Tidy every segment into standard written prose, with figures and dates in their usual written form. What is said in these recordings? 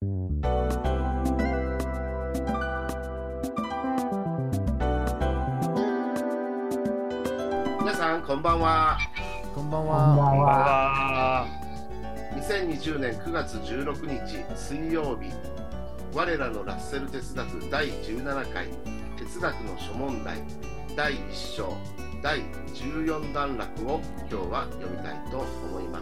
皆さんこんばんは。 こんばんこんばんは。 は。 2020年9月16日水曜日、我らのラッセル哲学第17回哲学の諸問題第1章第14段落を今日は読みたいと思います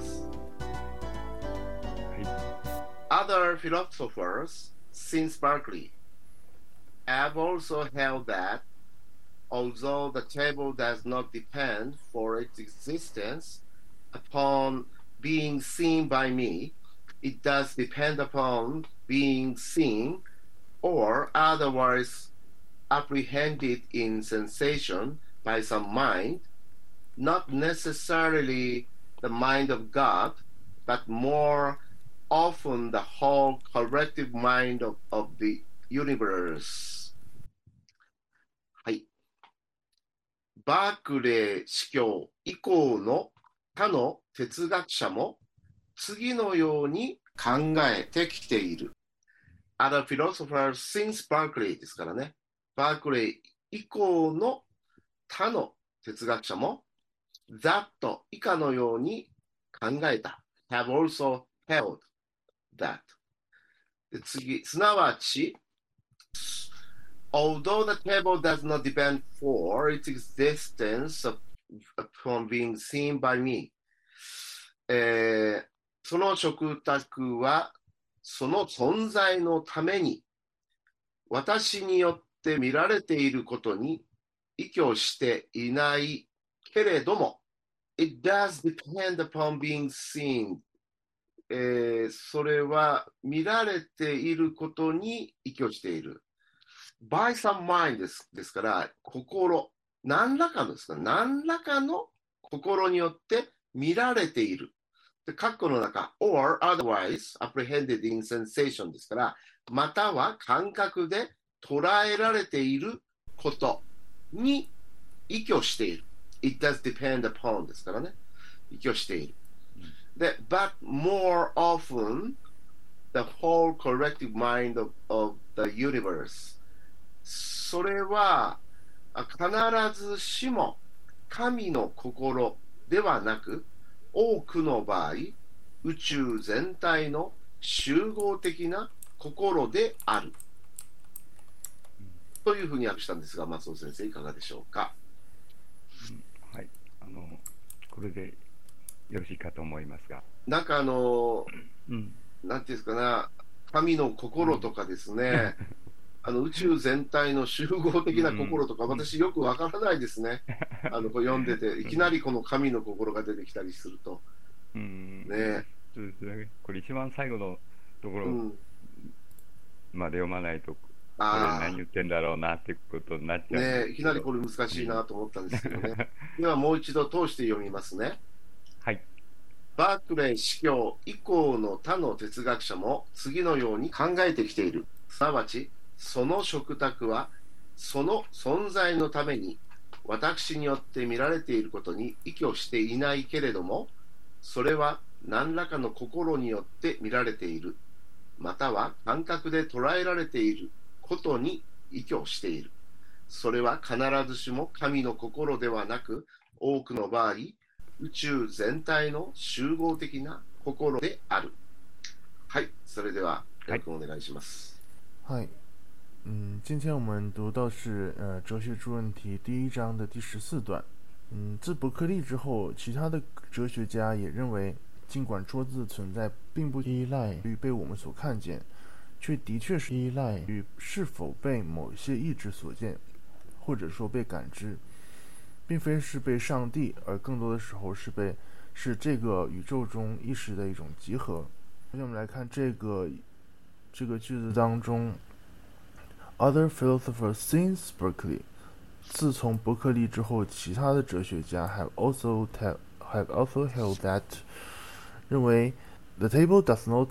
。Other philosophers since Berkeley have also held that although the table does not depend for its existence upon being seen by me, it does depend upon being seen or otherwise apprehended in sensation by some mind, not necessarily the mind of God, but more often the whole collective mind of the universe. はい。バークレー司教以降の他の哲学者も次のように考えてきている。Other philosophers since Berkeley ですからね。バークレー以降の他の哲学者も that 以下のように考えた。have also held that。で次、すなわち、although the table does not depend for its existence upon being seen by me、その食卓はその存在のために私によって見られていることに依拠していないけれども、it does depend upon being seen、それは見られていることに依拠している。by some mind ですから、心、何らかのですか、何らかの心によって見られている。で、括弧の中、or otherwise apprehended in sensation ですから、または感覚で捉えられていることに依拠している。It does depend upon ですからね。依拠している。で、but more often the whole collective mind of the universe。それは必ずしも神の心ではなく、多くの場合、宇宙全体の集合的な心である。というふうに訳したんですが、松尾先生いかがでしょうか。 はい、これでよろしいかと思いますが。 なんかなんていうんですかな、神の心とかですね、宇宙全体の集合的な心とか、私よくわからないですね。これ読んでて、いきなりこの神の心が出てきたりすると。ね、 そうですね。これ一番最後のところまで読まないと、これ何言ってんだろうなってことになっちゃうね。 いきなりこれ難しいなと思ったんですけどね。ではもう一度通して読みますね。 はい。 バークレー司教以降の他の哲学者も次のように考えてきている。すなわち、その食卓はその存在のために私によって見られていることに依拠していないけれども、それは何らかの心によって見られている、または感覚で捉えられていることに依拠している。それは必ずしも神の心ではなく、多くの場合、宇宙全体の集合的な心である。はい、それではよろしくお願いします。 はい。今天我们读到是哲学出问题第一章的第14段。自伯克利之后，其他的哲学家也认为，尽管桌子的存在并不依赖于被我们所看见，却的确是依赖于是否被某些意志所见，或者说被感知，并非是被上帝，而更多的时候是这个宇宙中意识的一种集合。那我们来看这个句子当中 ，Other philosophers since Berkeley， 自从伯克利之后，其他的哲学家 have also held that， 认为 the table does not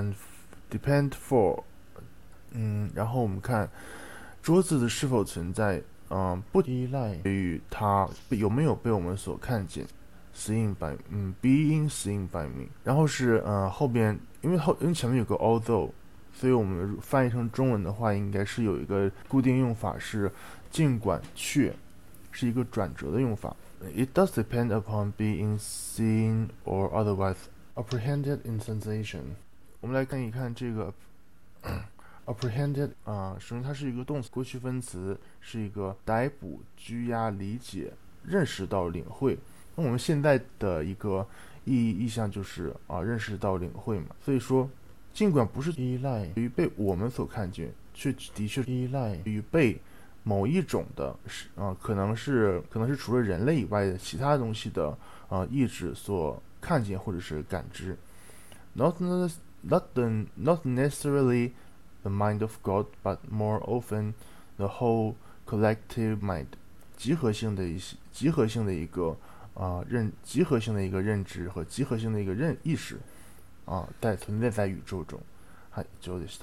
depend for， 然后我们看桌子的是否存在，不依赖于它有没有被我们所看见。being seen by me， 然后是后边因为前面有个 although， 所以我们翻译成中文的话，应该是有一个固定用法，是尽管却，是一个转折的用法。It does depend upon being seen or otherwise apprehended in sensation。我们来看一看这个apprehended 首先它是一个动词，过去分词，是一个逮捕、拘押、理解、认识到、领会。那我们现在的一个意象就是认识到、领会嘛。所以说，尽管不是依赖于被我们所看见，却的确依赖于被某一种的可能是除了人类以外的其他东西的意志所看见或者是感知。Not necessarily the mind of God, but more often the whole collective mind， 集合性的一个认知和集合性的一个意識存在在宇宙中。はい、以上でした。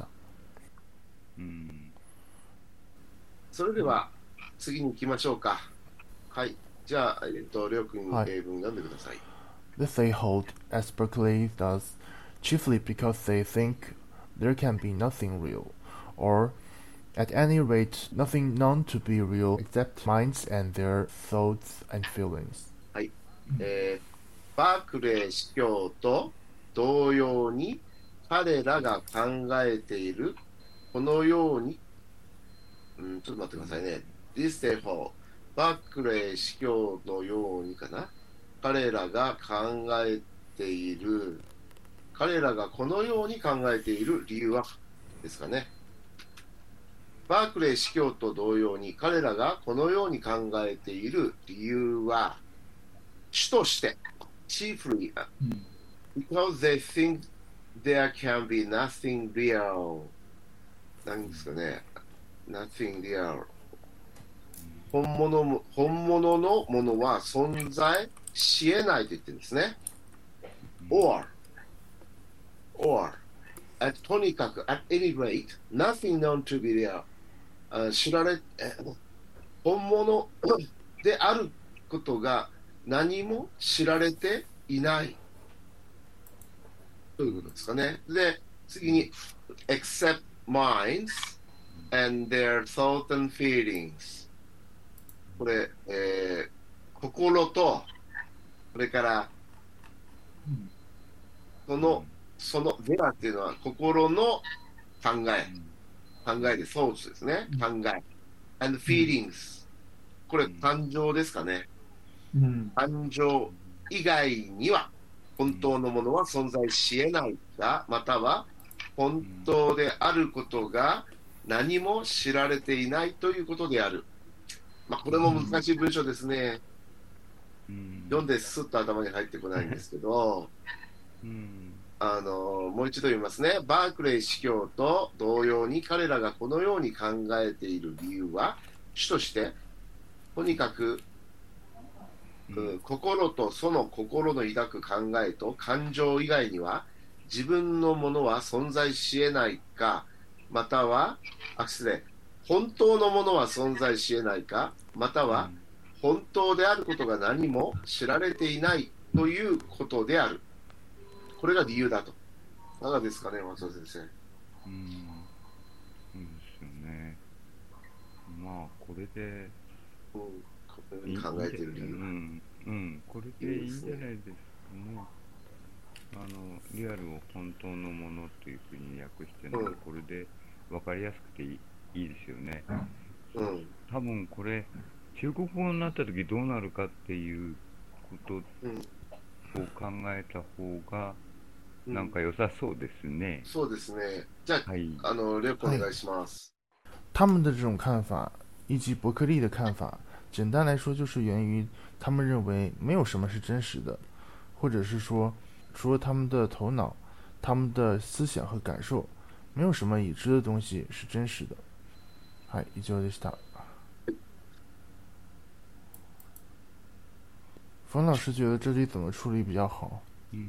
それでは次に行きましょうか。はい、じゃありょうくん英文読んでください。 This they hold, as Berkeley does, chiefly because they think there can be nothing real, or at any rate nothing known to be real except minds and their thoughts and feelings。 はい、バークレー司教と同様に彼らが考えているこのようにちょっと待ってくださいね。This they hold、バークレー司教のようにかな。彼らが考えている、彼らがこのように考えている理由はですかね。バークレー司教と同様に彼らがこのように考えている理由は主として chiefly because they think there can be nothing real なんですかね。nothing real 本物のものは存在し得ないと言ってるんですね。orとにかく at any rate nothing known to be real 本物であることが何も知られていないということですかね。で、次に except minds and their thoughts and feelings これ、心とそれからそのゼラっていうのは心の考えでソースですね。考え and feelings これ感情ですかね。感情以外には本当のものは存在し得ないが、または本当であることが何も知られていないということである。これも難しい文章ですね。読んですっと頭に入ってこないんですけど、もう一度読みますね。バークレー司教と同様に彼らがこのように考えている理由は主としてとにかく心とその心の抱く考えと感情以外には自分のものは存在し得ないか、または本当のものは存在し得ないか、または本当であることが何も知られていないということである。これが理由だと。いかがですかね、松尾先生。 そうですよね。これで、 考えている理由。 これでいいんじゃないですかね。リアルを本当のものというふうに訳してるので、これで分かりやすくていいですよね。多分これ中国語になった時どうなるかっていうことを考えた方がなんか良さそうですね。 そうですね。じゃあ、レオ君お願いします。 他们的这种看法以及伯克利的看法，简单来说就是源于他们认为没有什么是真实的，或者是说除了他们的头脑、他们的思想和感受，没有什么已知的东西是真实的。はい、以上でした。冯老师觉得这里怎么处理比较好？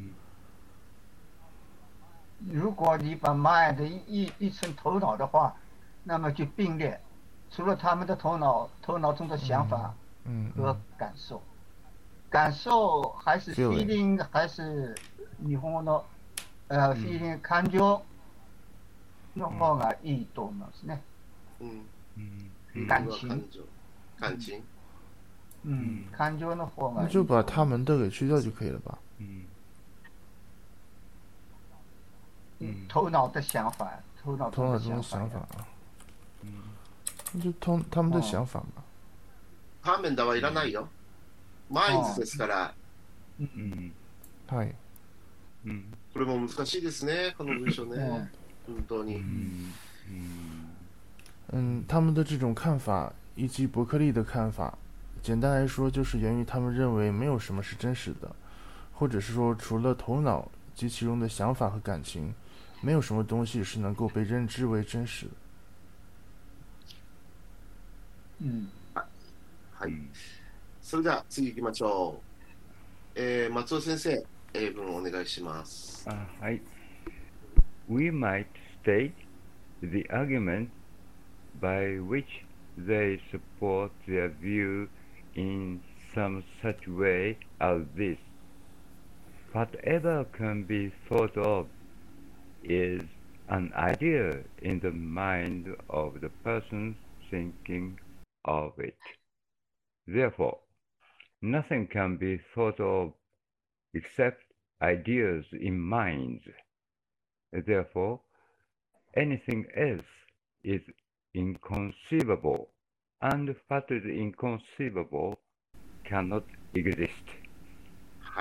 如果你把 mind 译成头脑的话，那么就并列，除了他们的头脑中的想法和感受，感受还是 feeling 还是日本語のfeeling感情， の方がいいと思いますね。感情。感情の方がいい。 那就把他们的给去掉就可以了吧。 头脑的想法，头脑中的想法啊。那就他们的想法嘛。 他们的はいらないよ。マインズですから。 はい。 これも難しいですね、この文章ね。本当に。 他们的这种看法以及伯克利的看法，简单来说就是源于他们认为没有什么是真实的，或者是说除了头脑及其中的想法和感情，没有什么东西是能够被认知为真实的。 はい。それでは次行きましょう。松尾先生、英文お願いします。 はい。We might state the argument by which they support their view in some such way as this. Whatever can be thought of is an idea in the mind of the person thinking of it. Therefore, nothing can be thought of except ideas in minds. Therefore, anything else is inconceivable, and what is inconceivable cannot exist. はい。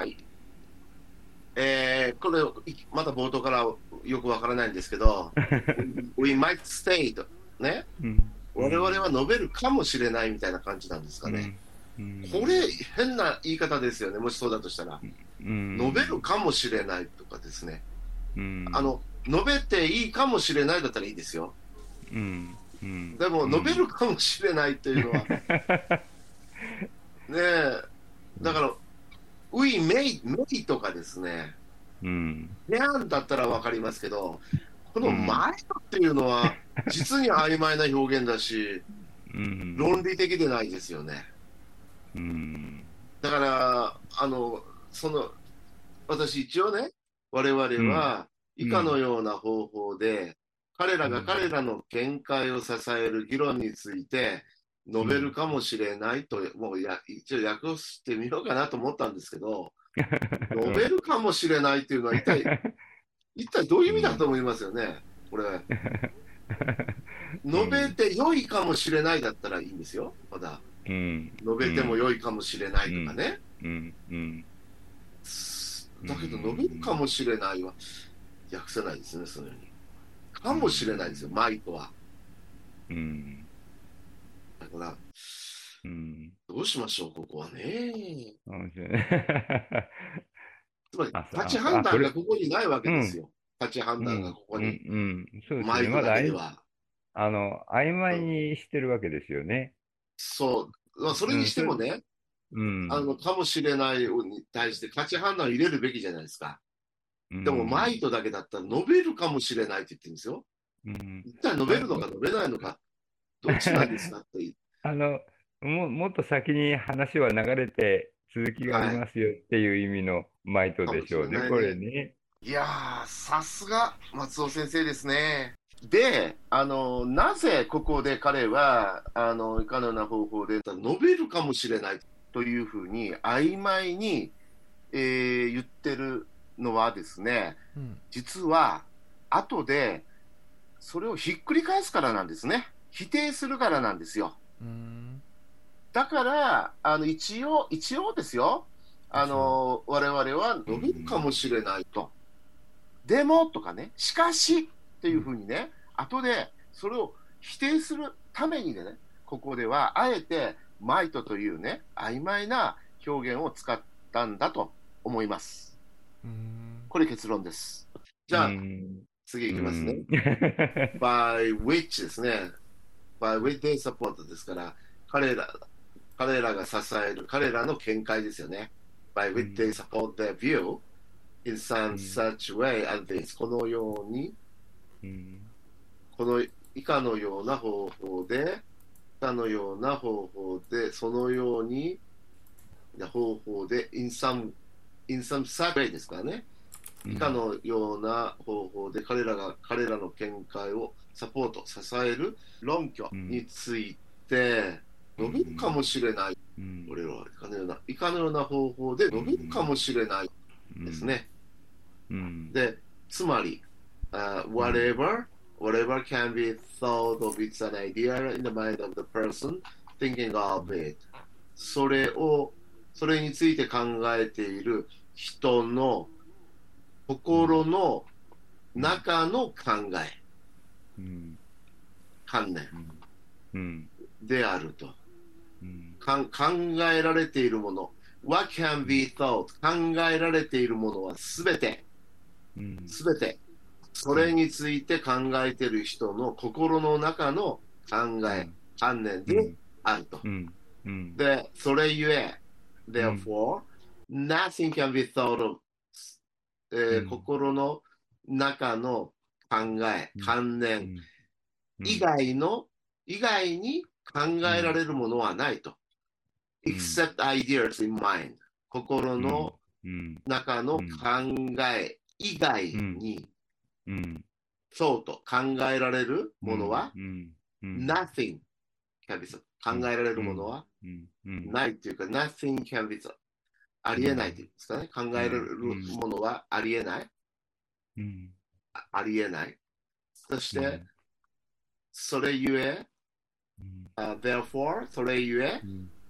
これ、まだ冒頭からよくわからないんですけど、We might state ね、我々は述べるかもしれないみたいな感じなんですかね。これ、変な言い方ですよね、もしそうだとしたら。述べるかもしれないとかですね。述べていいかもしれないだったらいいですよ。でも、述べるかもしれないというのは、ねえ、だから、We may とかですね、であんだったらわかりますけど、この前っていうのは、実に曖昧な表現だし、論理的でないですよね。だから、私一応ね、我々は以下のような方法で、彼らが彼らの見解を支える議論について述べるかもしれないと、もう一応訳してみようかなと思ったんですけど、述べるかもしれないっていうのは一体どういう意味だと思いますよね、これ。述べて良いかもしれないだったらいいんですよ、まだ。述べても良いかもしれないとかね。だけど、述べるかもしれないは訳せないですね、そのように。かもしれないですよ、マイとは。だから、どうしましょう、ここはね。つまり、立ち判断がここにないわけですよ。立ち判断がここに。マイとだけでは。 曖昧にしてるわけですよね。 そう。それにしてもね、かもしれないに対して価値判断を入れるべきじゃないですか。でも、マイトだけだったら述べるかもしれないって言ってるんですよ。一体述べるのか述べないのか、どっちなんですかってもっと先に話は流れて続きがありますよっていう意味のマイトでしょうね、これね。 いやー、さすが松尾先生ですね。で、なぜここで彼は、いかのような方法で述べるかもしれないというふうに曖昧に、言ってるのはですね、実は後でそれをひっくり返すからなんですね。否定するからなんですよ。だから一応ですよ、我々は述べるかもしれないと、でもとかね、しかしっていうふうにね、後でそれを否定するためにね、ここではあえてマイトというね、曖昧な表現を使ったんだと思います。これ結論です。じゃあ、次いきますね。by which ですね。by which they support ですから、彼らが支える、彼らの見解ですよね。by which they support their view in some such way as this このように、この以下のような方法で、そのように方法で in some such way ですからね。 以下のような方法で彼らの見解をサポート、支える論拠について述べるかもしれない。これは以下のような方法で述べるかもしれないですね。で、つまり、whatever can be thought of, it's an idea in the mind of the person thinking of it. それについて考えている人の心の中の考え、観念であると。考えられているもの、what can be thought、考えられているものはすべて、それについて考えている人の心の中の考え、観念であると。で、それゆえ、therefore, nothing can be thought of、心の中の考え、観念以外に考えられるものはないと。except ideas in mind。心の中の考え以外に、そうと考えられるものは、nothing can be thought。考えられるものはないというか、nothing can be thought。ありえないというんですかね。考えられるものはありえない。ありえない。そして、それゆえ、therefore、それゆえ、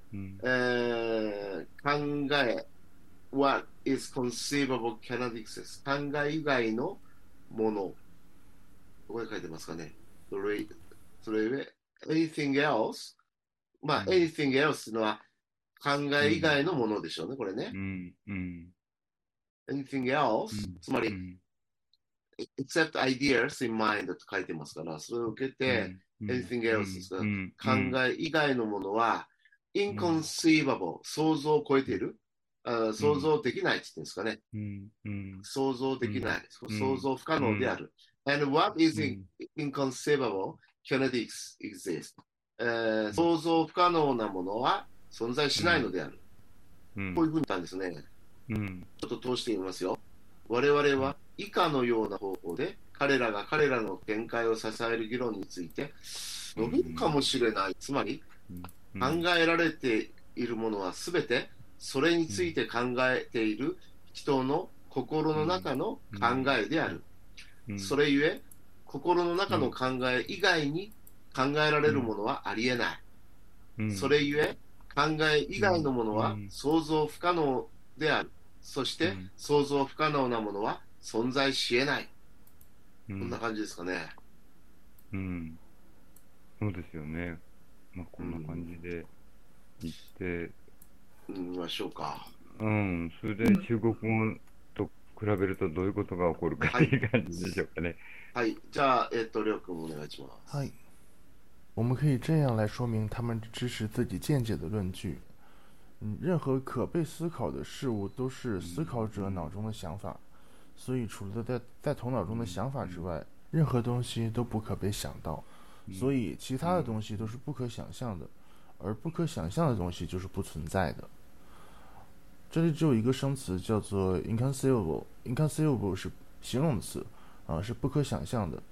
考え、what is conceivable cannot exist。考え以外のもの、ここに書いてますかね。それゆえ、anything else、anything else というのは考え以外のものでしょうね、これね。anything else、つまり、except ideas in mind と書いてますから、それを受けて、anything else ですから、考え以外のものは、inconceivable、想像を超えている、想像できないって言ってるんですかね。想像できない、想像不可能である。and what is inconceivable cannot exist、想像不可能なものは存在しないのである。こういうふうに言ったんですね。ちょっと通してみますよ。我々は以下のような方法で彼らの見解を支える議論について述べるかもしれない。つまり、考えられているものはすべてそれについて考えている人の心の中の考えである。それゆえ、心の中の考え以外に考えられるものはありえない。それゆえ、考え以外のものは想像不可能である。そして、想像不可能なものは存在し得ない。こんな感じですかね。 そうですよね。こんな感じで言ってみましょうか。 それで中国語と比べるとどういうことが起こるかっていう感じでしょうかね。 はい。じゃあ、りょうくんお願いします。 はい。我们可以这样来说明他们支持自己见解的论据。任何可被思考的事物都是思考者脑中的想法，所以除了在头脑中的想法之外，任何东西都不可被想到，所以其他的东西都是不可想象的，而不可想象的东西就是不存在的。这里只有一个生词叫做 inconceivable，inconceivable 是形容词，是不可想象的。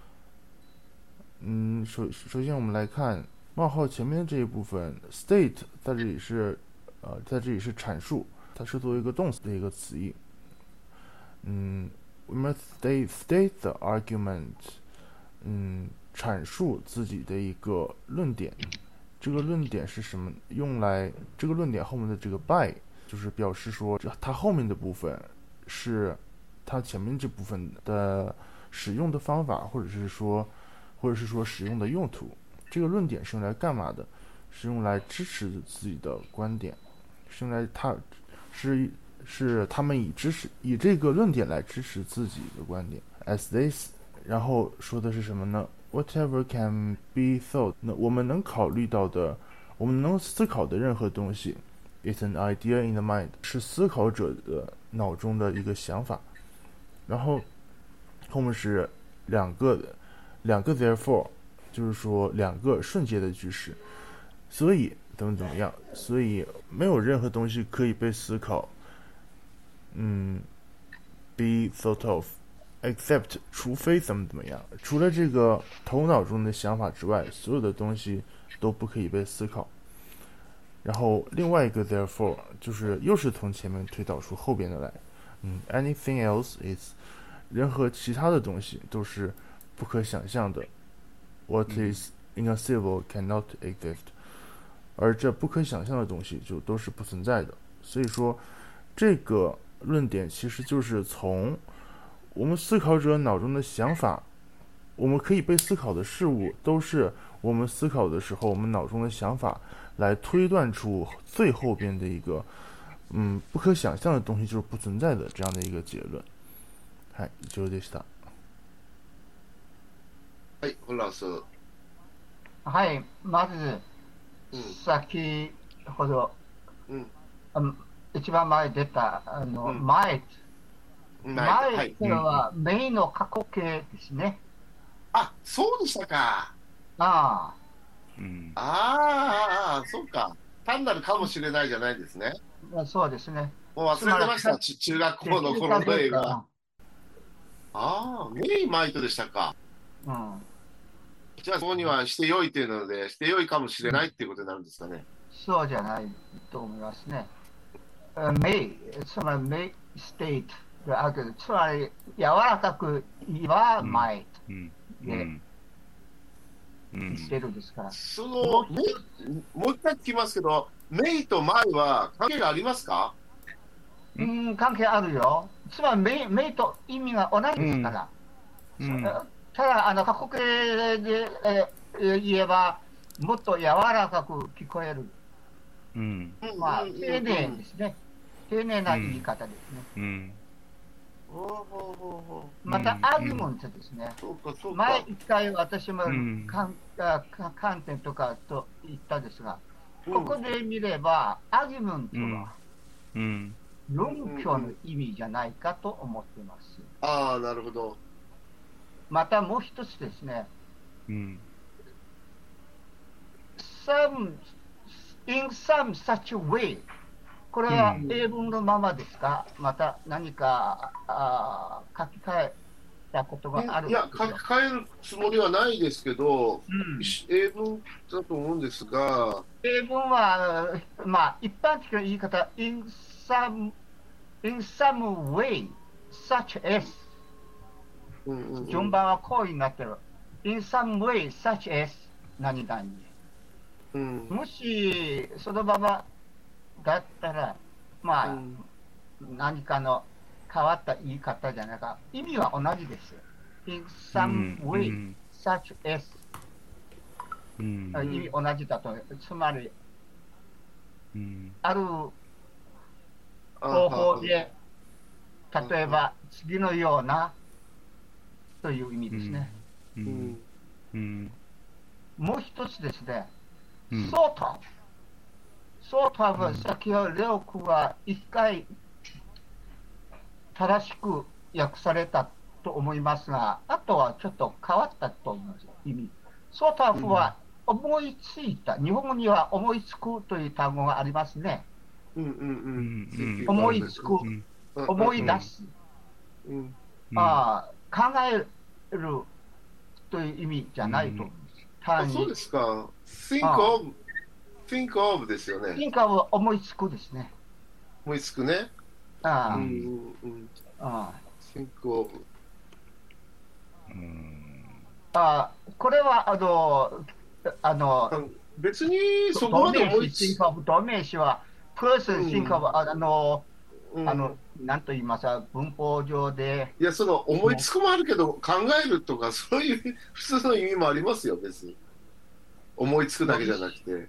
首先我们来看冒号前面的这一部分 state 在这里是阐述，它是作为一个动词的一个词义。we must state the argument， 阐述自己的一个论点。这个论点是什么？这个论点后面的这个 by 就是表示说它后面的部分是它前面这部分的使用的方法，或者是说使用的用途。这个论点是用来干嘛的？是用来支持自己的观点，是用来他们以这个论点来支持自己的观点。As this， 然后说的是什么呢？ Whatever can be thought， 那我们能考虑到的，我们能思考的任何东西 ，is an idea in the mind， 是思考者的脑中的一个想法。然后后面是两个 therefore， 就是说两个瞬间的句式。所以怎么样？所以没有任何东西可以被思考。 be thought of, except 除非怎么样，除了这个头脑中的想法之外，所有的东西都不可以被思考。然后另外一个 therefore 就是又是从前面推导出后边的来。anything else is 任何其他的东西都是不可想象的。What is inconceivable cannot exist， 而这不可想象的东西就都是不存在的。所以说，这个论点其实就是从我们思考者脑中的想法，我们可以被思考的事物，都是我们思考的时候，我们脑中的想法来推断出最后边的一个不可想象的东西就是不存在的这样的一个结论。はい、以上でした。 はい、本老師。 はい、まず、先ほど、一番前出た、前というのは、メイの過去形ですね。 あ、そうでしたか。 ああ、そうか。単なるかもしれないじゃないですね。 そうですね。 もう忘れてました、中学校の頃の映画。ああ、メイマイトでしたか。じゃあ、そこにはしてよいというので、してよいかもしれないっていうことになるんですかね。 そうじゃないと思いますね。メイ、つまりメイステートがあるけど、つまり柔らかく言えばマイトでしてるんですから。 そのもう一回聞きますけど、メイとマイは関係がありますか？ 関係あるよ。つまりメイと意味が同じですから。ただ、過去形で、言えば、もっと柔らかく聞こえる。まあ、丁寧ですね。丁寧な言い方ですね。また、アーギュメントですね。前一回私も観点とかと言ったんですが、ここで見れば、アーギュメントは、論拠の意味じゃないかと思っています。 ああ、なるほど。 またもう一つですね。in some such way これは英文のままですか？また何か書き換えたことがあるんですか？ いや、書き換えるつもりはないですけど、英文だと思うんですが、 英文は、まあ、一般的な言い方、in some way, such as、順番はこうになってる。in some way, such as 何々。もし、そのままだったら、まあ、何かの変わった言い方じゃないか。意味は同じです。in some way, such as、意味同じだと。つまり、ある方法で、例えば次のようなという意味ですね。もう一つですね、sort of は先ほどレオ君は一回正しく訳されたと思いますが、あとはちょっと変わったと思います、意味。sort of は思いついた、日本語には思いつくという単語がありますね。思いつく、思い出す、考えるという意味じゃないと思います。 そうですか。think of ですよね。 think of 思いつくですね。 思いつくね。think of。 これは別にそこまで思いつく。 動名詞は person think of なんと言いますか、文法上で。 いや、その思いつくもあるけど、考えるとか、そういう普通の意味もありますよ、別に。思いつくだけじゃなくて。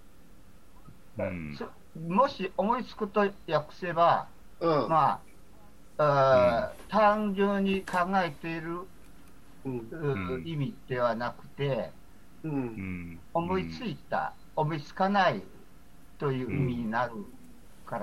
もし思いつくと訳せば、まあ、単純に考えている意味ではなくて、思いついた、思いつかないという意味になるから。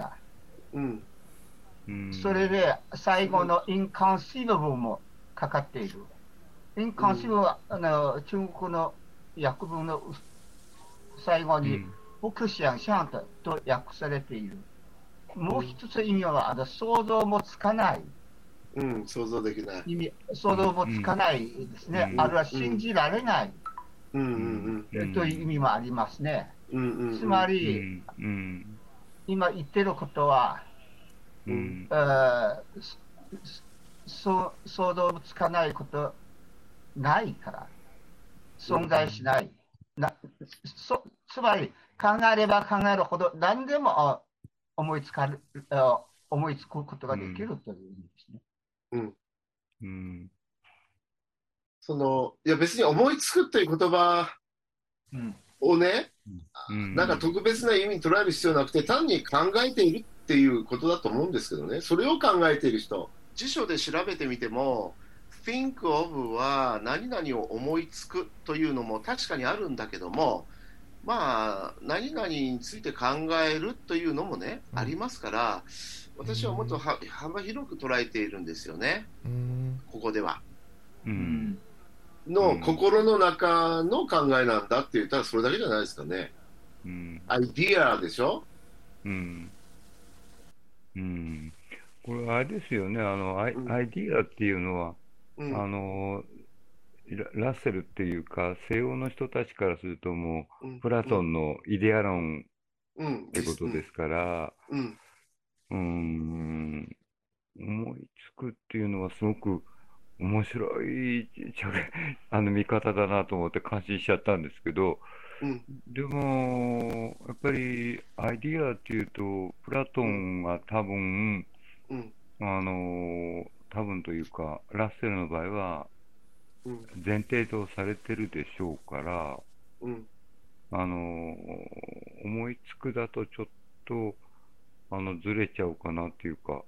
それで最後の inconceivable もかかっている。inconceivable は中国の訳文の最後に不可想象と訳されている。もう一つ意味は想像もつかないうん、想像できない。 意味、想像もつかないですね。あるいは信じられない、という意味もありますね。つまり、今言ってることは、想像もつかないことないから、存在しない。つまり、考えれば考えるほど何でも思いつくことができるという意味ですね。 いや別に思いつくっていう言葉をね、なんか特別な意味に捉える必要なくて、単に考えているっていうことだと思うんですけどね。それを考えている人、辞書で調べてみても、think of は何々を思いつくというのも確かにあるんだけども、まあ何々について考えるというのもね、ありますから、私はもっと幅広く捉えているんですよね、ここでは。心の中の考えなんだって言ったらそれだけじゃないですかね。アイディアでしょ。 これあれですよね、アイディアっていうのは、ラッセルっていうか、西欧の人たちからするともう、プラトンのイデア論ってことですから、思いつくっていうのはすごく面白い見方だなと思って感心しちゃったんですけど、でも、やっぱりアイディアっていうと、プラトンが多分というか、ラッセルの場合は、前提とされてるでしょうから、思いつくだとちょっと、ずれちゃうかなっていうか、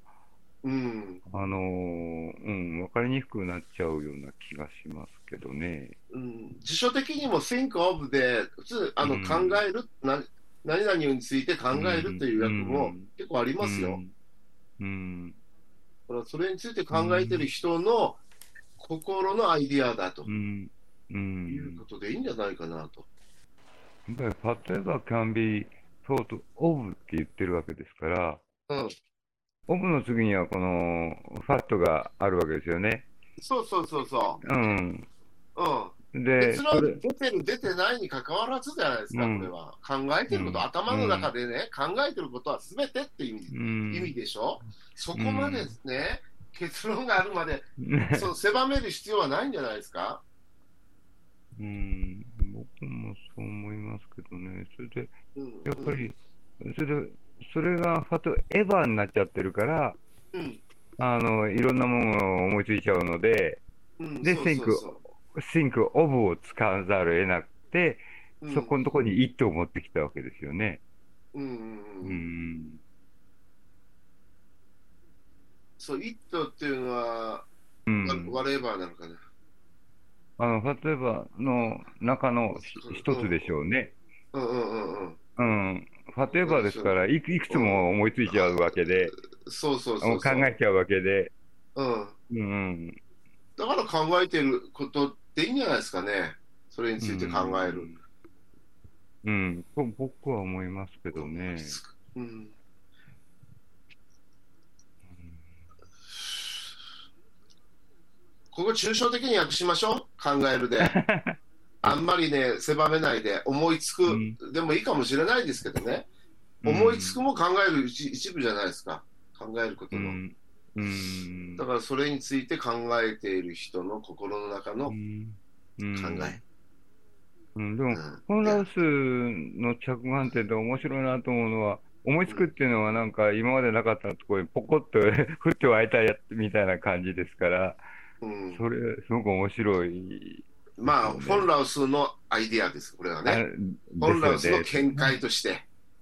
わかりにくくなっちゃうような気がしますけどね。 辞書的にも think of で、普通、考える、何々について考えるという訳も結構ありますよ。それについて考えてる人の心のアイディアだということでいいんじゃないかなと。 やっぱり、例えば can be thought of って言ってるわけですから、オブの次にはこのファットがあるわけですよね。 そうそうそうそう。 で、 結論出てる出てないに関わらずじゃないですか、これは。考えてること、頭の中でね、考えてることは全てっていう意味でしょ。そこまでね、結論があるまで、狭める必要はないんじゃないですか。 僕もそう思いますけどね。それで、やっぱり、それがファトエヴァになっちゃってるから、いろんなものを思いついちゃうので、で、think of を使わざるを得なくて、そこのところに it を持ってきたわけですよね。 そう、it っていうのは、whatever なのかな。 ファトエヴァの中の一つでしょうね。ファトエヴァですから、いくつも思いついちゃうわけで、考えちゃうわけで。 だから考えてることっていいんじゃないですかね。それについて考える。 と僕は思いますけどね。 ここ抽象的に訳しましょう。考えるで。あんまりね、狭めないで、思いつく、でもいいかもしれないですけどね。思いつくも考える一部じゃないですか。考えることの。だからそれについて考えている人の心の中の考え。 でも、フォン・ラウスの着眼点で面白いなと思うのは、思いつくっていうのはなんか今までなかったところにポコッと降って湧いたやつみたいな感じですから、それすごく面白い。 まあ、フォン・ラウスのアイディアです、これはね。フォン・ラウスの見解として、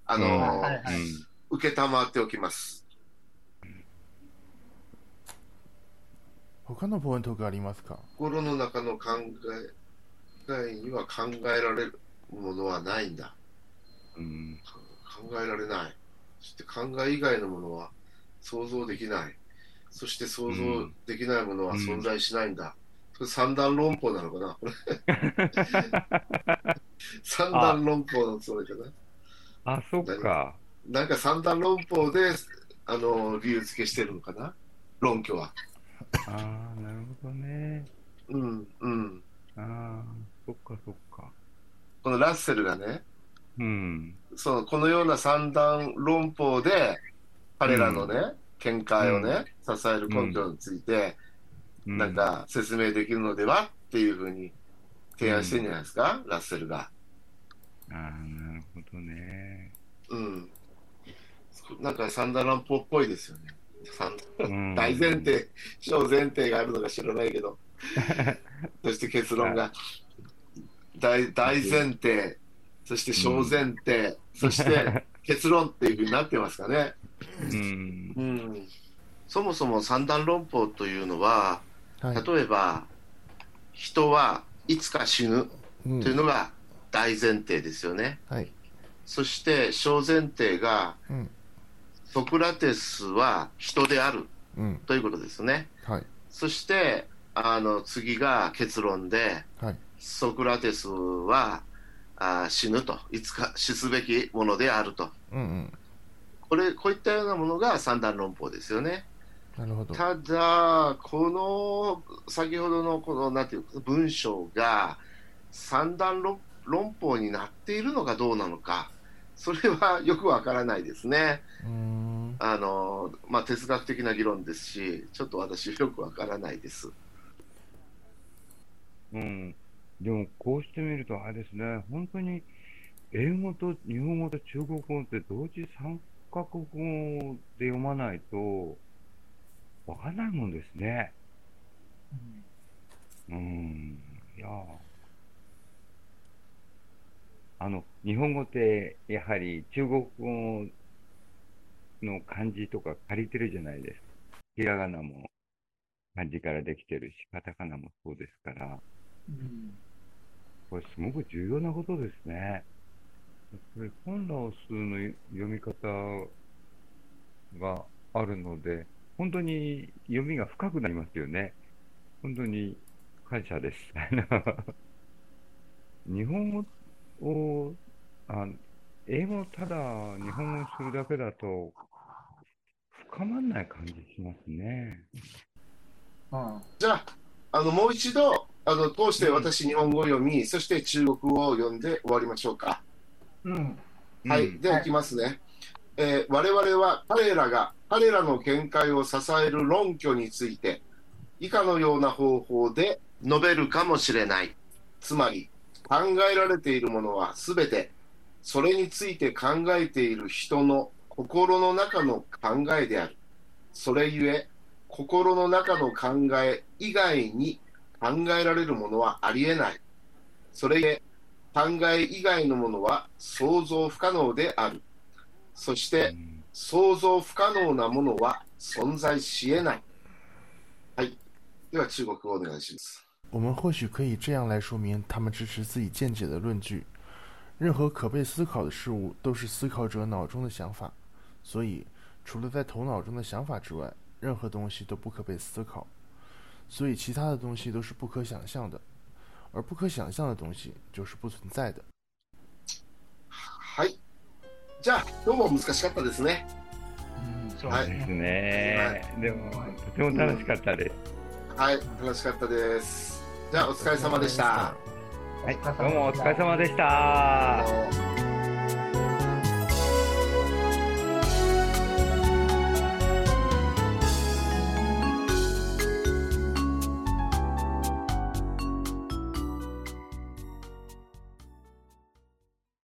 受けたまっておきます。 他のポイントがありますか？ 心の中の考えには考えられるものはないんだ。考えられない。そして考え以外のものは想像できない。そして想像できないものは存在しないんだ。それ三段論法なのかな三段論法のそれかな。 そっか。 なんか三段論法で理由付けしてるのかな、論拠は。 ああ、なるほどね。 うんうん。 ああ、そっかそっか。 このラッセルがね、 うん。 このような三段論法で、彼らのね、見解をね、支える根拠について、なんか説明できるのではっていうふうに提案してるんじゃないですか、ラッセルが。 ああ、なるほどね。 うん。なんか三段論法っぽいですよね。大前提、小前提があるのか知らないけど、そして結論が大前提、そして小前提、そして結論っていうふうになってますかね。そもそも三段論法というのは、例えば人はいつか死ぬというのが大前提ですよね。そして小前提が、ソクラテスは人であるということですね。そして次が結論で、ソクラテスは死ぬと、いつか死すべきものであると、こういったようなものが三段論法ですよね。 なるほど。 ただ、この先ほどのこのなんていうか文章が三段論法になっているのかどうなのか、それはよくわからないですね。哲学的な議論ですし、ちょっと私よくわからないです。 でもこうしてみるとあれですね、本当に英語と日本語と中国語って同時3カ国語で読まないとわかんないもんですね。いや日本語ってやはり中国語の漢字とか借りてるじゃないですか。ひらがなも漢字からできてるし、カタカナもそうですから、これすごく重要なことですね。これ本ラオスの読み方があるので、本当に読みが深くなりますよね。本当に感謝です。日本語を、英語をただ日本語にするだけだと深まらない感じしますね。 じゃあ、もう一度通して私日本語を読み、そして中国語を読んで終わりましょうか。はい、では行きますね。我々は彼らの見解を支える論拠について以下のような方法で述べるかもしれない。つまり考えられているものはすべてそれについて考えている人の心の中の考えである。それゆえ心の中の考え以外に考えられるものはありえない。それゆえ考え以外のものは想像不可能である。そして想像不可能なものは存在し得ない。はい。では中国語お願いします。 我们或许可以这样来说明他们支持自己见解的论据：任何可被思考的事物都是思考者脑中的想法，所以除了在头脑中的想法之外，任何东西都不可被思考。所以其他的东西都是不可想象的，而不可想象的東西就是不存在的。 はい。じゃあ今日も難しかったですね。 そうですね。でもとても楽しかったです。 はい、楽しかったです。じゃあお疲れ様でした。 はい、どうもお疲れ様でした。